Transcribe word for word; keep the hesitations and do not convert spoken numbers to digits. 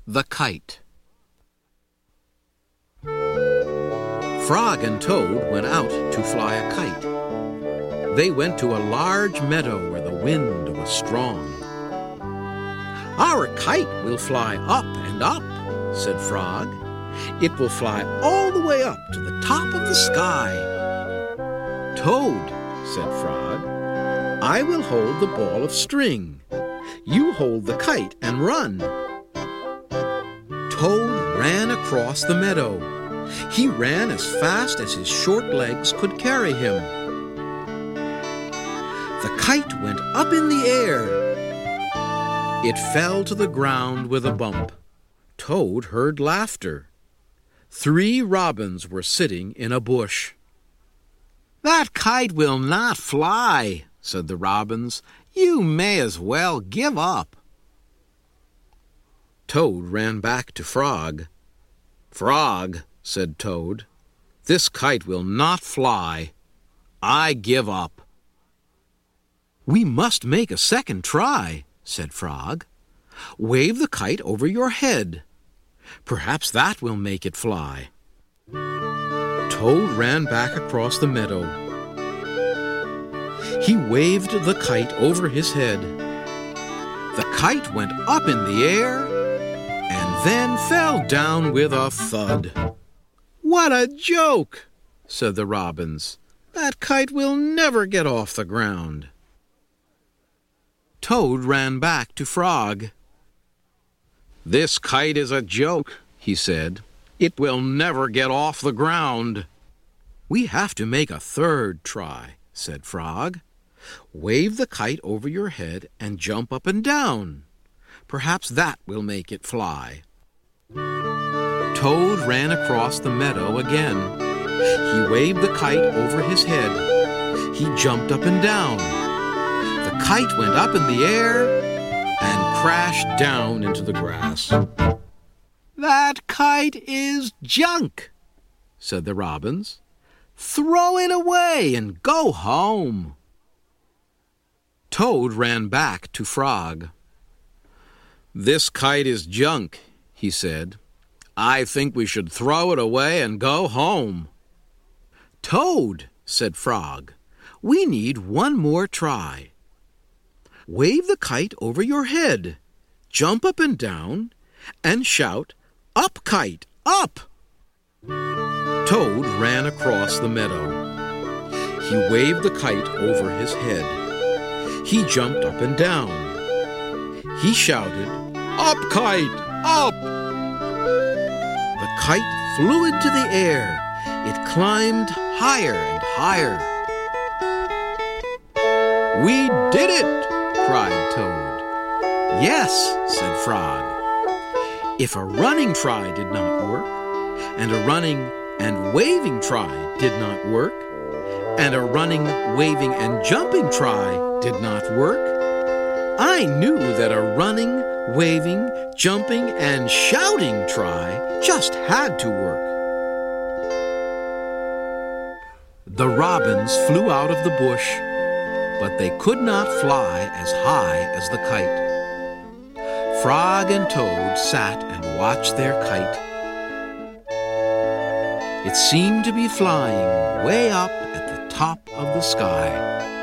The Kite. Frog and Toad went out to fly a kite. They went to a large meadow where the wind was strong. "Our kite will fly up and up," said Frog. "It will fly all the way up to the top of the sky." "Toad," said Frog, "I will hold the ball of string. You hold the kite and run." Toad ran across the meadow. He ran as fast as his short legs could carry him. The kite went up in the air. It fell to the ground with a bump. Toad heard laughter. Three robins were sitting in a bush. "That kite will not fly," said the robins. "You may as well give up." Toad ran back to Frog. "Frog," said Toad, "this kite will not fly. I give up." "We must make a second try," said Frog. "Wave the kite over your head. Perhaps that will make it fly." Toad ran back across the meadow. He waved the kite over his head. The kite went up in the air and then fell down with a thud. "What a joke!" said the robins. "That kite will never get off the ground." Toad ran back to Frog. "This kite is a joke," he said. "It will never get off the ground." "We have to make a third try," said Frog. "Wave the kite over your head and jump up and down. Perhaps that will make it fly." Toad ran across the meadow again. He waved the kite over his head. He jumped up and down. The kite went up in the air and crashed down into the grass. "That kite is junk," said the robins. "Throw it away and go home." Toad ran back to Frog. "This kite is junk," he said. "I think we should throw it away and go home." "Toad," said Frog, "we need one more try. Wave the kite over your head, jump up and down, and shout, 'Up, kite, up!'" Toad ran across the meadow. He waved the kite over his head. He jumped up and down. He shouted, "Up, kite, up!" The kite flew into the air. It climbed higher and higher. "We did it!" cried Toad. "Yes," said Frog. "If a running try did not work, and a running and waving try did not work, and a running, waving, and jumping try did not work, I knew that a running, waving, jumping, and shouting try just had to work." The robins flew out of the bush, but they could not fly as high as the kite. Frog and Toad sat and watched their kite. It seemed to be flying way up at the top of the sky.